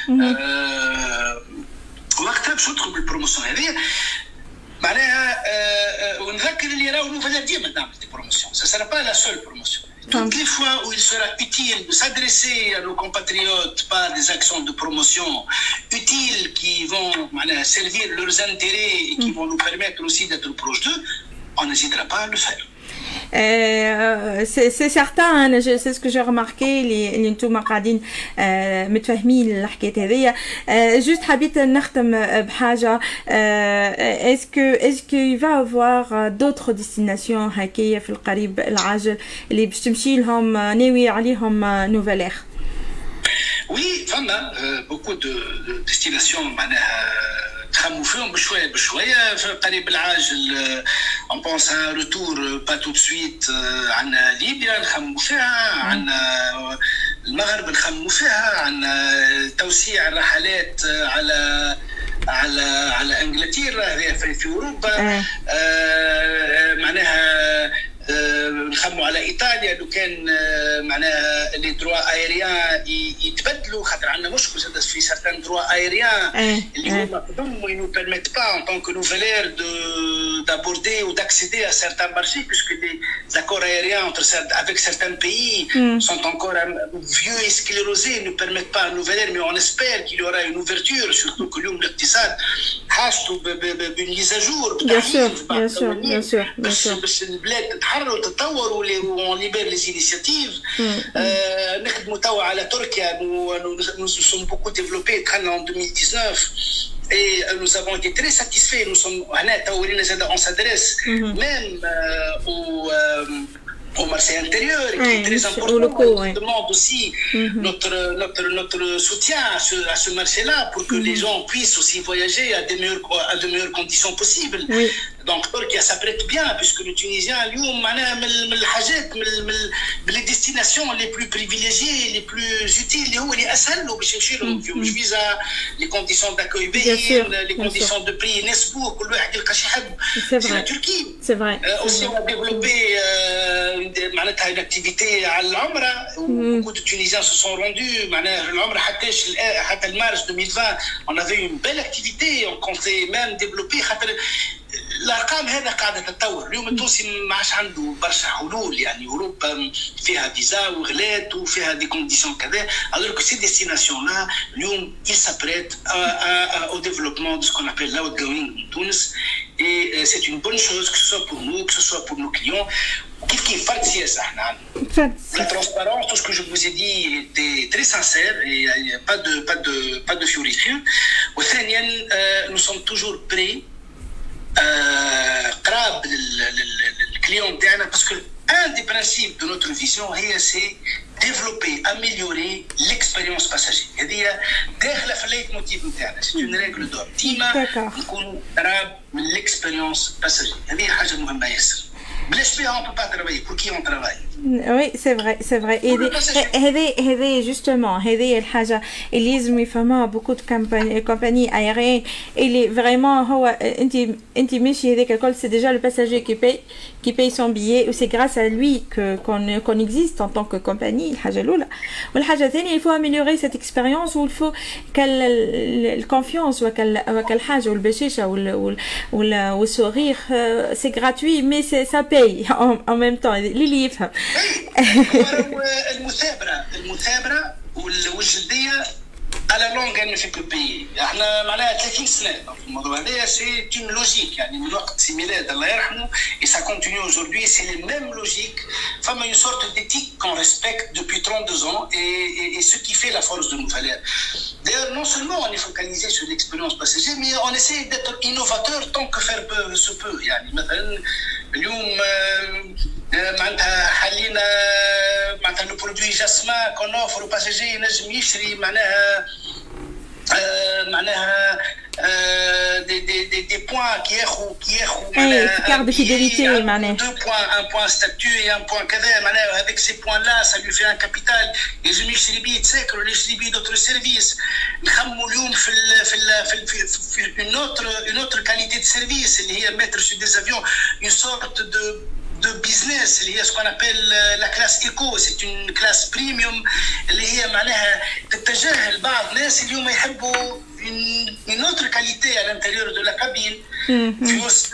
وقتها باش ندخل بالبروموسيون هذه معناها ونذكر اللي راهو نوفل ديما تعمل دي بروموسيون سا سيرا با لا سول بروموسيون. Toutes les fois où il sera utile de s'adresser à nos compatriotes par des actions de promotion utiles qui vont servir leurs intérêts et qui vont nous permettre aussi d'être proches d'eux, on n'hésitera pas à le faire. C'est certain, c'est ce que j'ai remarqué اللي نتوما قاعدين متفاهمين الحكايه هذيا. جوست حبيت نختم بحاجه. est-ce qu'il va avoir d'autres destinations هكايا في القريب العاجل اللي باش تمشي لهم ناوي عليهم نوفل اير؟ Oui, فما beaucoup de destinations معناها نخمو فيهم بشويه بشويه في القريب العاجل. on pense à un retour pas tout de suite عندنا ليبيا نخمو فيها، عندنا المغرب نخمو فيها، عندنا توسيع الرحلات على انجلترا هذه في اوروبا. معناها نخموا على ايطاليا لو كان معناها لي دروا ايريان يتبدلوا خاطر عندنا مشكل في سارتان دروا ايريان اللي هما قدموا نو بيرميت با ان طونك نوفيلير d'aborder ou d'accéder à certains marchés puisque les accords aériens avec certains pays sont encore vieux et sclérosés, ne permettent pas à Nouvelle-Air, mais on espère qu'il y aura une ouverture, surtout que l'homme الاقتصاد حاجته بune mise à jour. bien sûr. باش البلاد تتحرر وتتطور وون ليبر لي انيشيتيف. نخدموا توا على تركيا. nous sommes beaucoup développés دخلنا en 2019 et nous avons été très satisfaits. Nous sommes on s'adresse même au marché intérieur qui est très important. On demande aussi notre soutien à ce marché-là pour que les gens puissent aussi voyager à de meilleures conditions possibles. Donc Turquie s'apprête bien puisque les Tunisiens اليوم معناها من الحاجات من les destinations les plus privilégiées les plus utiles اللي هو اللي اسهل له باش يمشي لهم فيهم فيزا les conditions d'accueil باهيين les conditions de prix يناسبوه كل واحد يلقى شي حد. C'est la Turquie. C'est vrai. Aussi on a développé معناتها une activité على العمرة. Beaucoup de Tunisiens se sont rendus معناها العمرة حتى المارس 2020 on avait une belle activité. On comptait même développer خاطر الارقام هذا قاعده تتطور. اليوم التونسي ما عادش عنده برشا حلول يعني اوروبا فيها فيزا وغلات وفيها دي كونديسيون كذا. alors que ces destinations là اليوم ils s'apprêtent au développement de ce qu'on appelle l'outgoing en Tunis et c'est une bonne chose que ce soit pour nous que ce soit pour nos clients. كيف فرد سياسه احنا عندنا la transparence. Tout ce que je vous ai dit était très sincère et il n'y a pas de fioritures. وثانيا nous sommes toujours prêts قراب للكليون تاعنا باسكو un des principes de notre vision هي سي développer améliorer l'expérience passager. هذه داخله في الليت موتيف نتاعنا. سي اون ريغل دور ديما نكونوا قراب من l'expérience passager. هذه حاجه مهمه ياسر. بلاش بها on peut pas travailler. Pour qui on travaille? Oui, c'est vrai. هذه justement هذه الحاجة اللي لازم يفهمها beaucoup de compagnies aériennes اللي vraiment هو انت ماشي هذاك الكل. c'est déjà le passager qui paye son billet et c'est grâce à lui qu'on existe en tant que compagnie. الحاجة الأولى. والحاجة الثانية il faut améliorer cette expérience و il faut الconfiance وكالحاجة والبشاشة والsourire c'est gratuit mais ça paye en même temps اللي يفهم. المثابرة والجدية على لونغ ان في كو بي. احنا معناها 30 سنه في الموضوع هذا. سي اون لوجيك يعني من وقت سي ميلاد الله يرحمه et ça continue aujourd'hui. c'est les mêmes logiques. فما une sorte d'éthique qu'on respecte depuis 32 ans et ce qui fait la force de Nouvelle-Air. D'ailleurs non seulement on est focalisé sur l'expérience passager mais on essaie d'être innovateur tant que faire se peut. يعني مثلا اليوم معناتها حلينا معناتها لو برودوي جاسما كون اوفر باساجي ينجم يشري معناها des points qui carte de fidélité, deux points, un point statut et un point كذا avec ces points-là ça lui fait un capital. يلزم يشتري بيه تساكر ولا يشتري بيه d'autres services. نخموا اليوم في une autre qualité de service اللي هي mettre sur des avions une sorte de business اللي هي ce qu'on appelle la classe éco. C'est une classe premium اللي هي معناها تتجاهل بعض الناس اليوم يحبوا une autre qualité à l'intérieur de la cabine. في وسط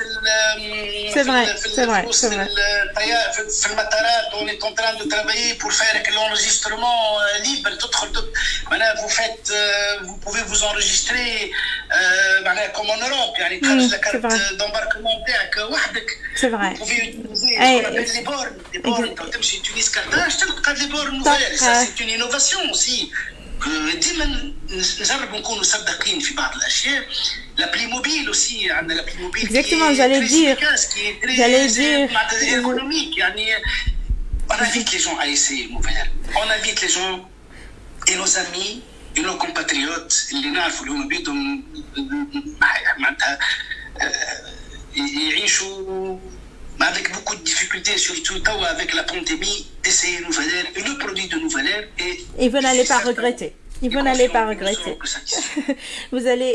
في المطارات on est en train de travailler pour faire que l'enregistrement libre تدخل معناها vous pouvez vous enregistrer معناها comme en Europe يعني تخرج لك كارت d'embarquement تاعك وحدك. C'est vrai. Vous pouvez utiliser les bornes quand تمشي تونس كارتاج تلقى les bornes nouvelles. Ça c'est une innovation aussi. ديما نجربوا نكونوا صدقين في بعض الاشياء. لابلي موبيل اوسي عندنا لابلي موبيل exactement j'allais dire économique يعني on invite les gens à essayer Mouvel. On invite les gens et nos amis et nos compatriotes اللي نعرفوا اللي هم بيدهم معناتها يعيشوا avec beaucoup de difficultés, surtout avec la pandémie, d'essayer Nouvel Air. Et le produit de Nouvel Air est... Et vous n'allez pas regretter. Et vous n'allez pas regretter. Vous allez,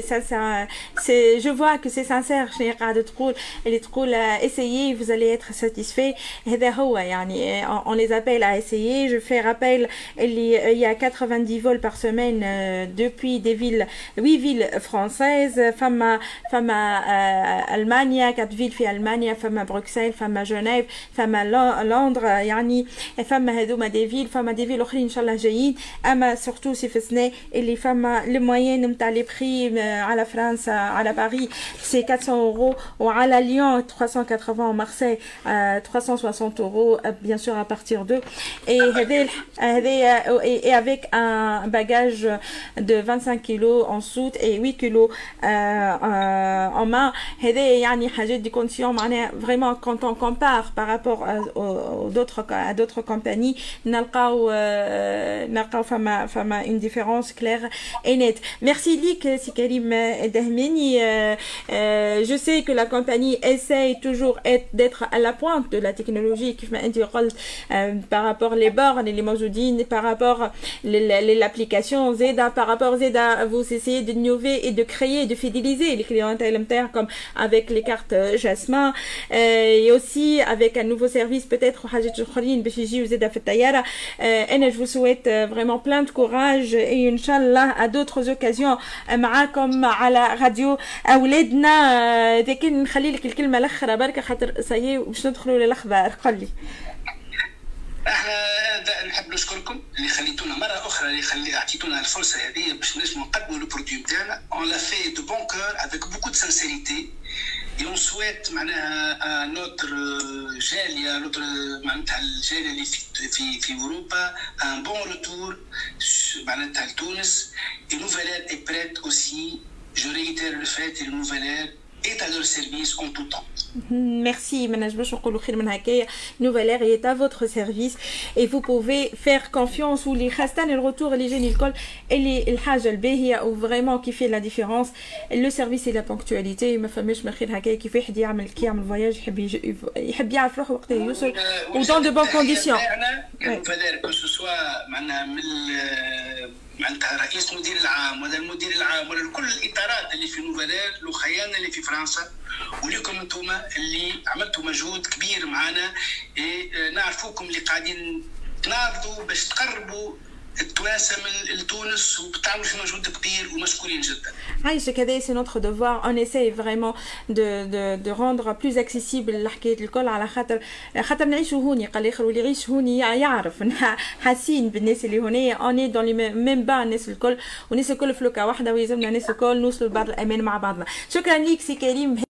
je vois que c'est sincère. Essayez, vous allez être satisfait. On les appelle à essayer. Je fais rappel, il y a 90 vols par semaine depuis des villes, 8 villes françaises. Femme à Allemagne, 4 villes في Allemagne, femme à Bruxelles, femme à Genève, femme à Londres. Femme à des villes, femme à des villes أخرين إن شاء الله جايين. أما surtout si فسنا اللي فما le moyen نتاع les prix على فرنسا على باريس c'est 400 € وعلى Lyon 380 Marseille 360 € bien sûr à partir de et avec un bagage de 25 kg en soute et 8 kg en main. هذا يعني حاجات دي كونديسيون معناها vraiment quand on compare par rapport à d'autres compagnies نلقاو فما une différence claire et nette. Merci Lik, c'est Karim Dahmeni. Je sais que la compagnie essaye toujours d'être à la pointe de la technologie par rapport les bornes et les موجودين, par rapport l'application Zeda, par rapport Zeda, vous essayez d'innover et de créer, de fidéliser les clientèles internes comme avec les cartes Jasmin et aussi avec un nouveau service peut-être je vous souhaite vraiment plein de courage et Inch'Allah à d'autres occasions معاكم على راديو أولادنا. لكن نخلي لك الكلمة الأخرى بركة خاطر صايي باش ندخلوا للأخبار. قل لي. احنا نحب نشكركم اللي خليتونا مرة أخرى اللي أعطيتونا الفرصة هذه باش نجموا نقدموا لو برودوي نتاعنا. On l'a fait de bon cœur avec beaucoup de sincérité. Et on souhaite معناها notre جالية notre معناتها الجالية اللي في أوروبا un bon retour معناتها لتونس. Et Nouvel Air est prête aussi. Je réitère le fait que Nouvel Air est à leur service en tout temps. Merci, Nouvel Air est à votre service et vous pouvez faire confiance ou les khastan et le retour les jeunes l'école et les haja الباهية ou vraiment qui fait la différence le service et la ponctualité. ما فماش من خير هكايا كيف واحد يعمل فواياج يحب يعرف روحه وقت يوصل و dans de bonnes conditions. que ce soit معناها من معناتها رئيس مدير العام ولا المدير العام ولا كل الاطارات اللي في نوفل اير الاخيان اللي في فرنسا ولكم انتم اللي عملتوا مجهود كبير معنا. نعرفوكم اللي قاعدين تناضلوا باش تقربوا التوانسه من لتونس وبتعملوا في مجهود كبير ومشكورين جدا. عايشك هذا c'est notre devoir. On essaye vraiment de rendre plus accessible الحكايات الكل على خاطر نعيشوا هوني. قال الاخر واللي يعيش هوني يعرف حاسين بالناس اللي هنا on est dans les mêmes bas الناس الكل والناس الكل في لوكا واحده ويلزمنا الناس الكل نوصلوا لبعض الامان مع بعضنا. شكرا ليك سي كريم.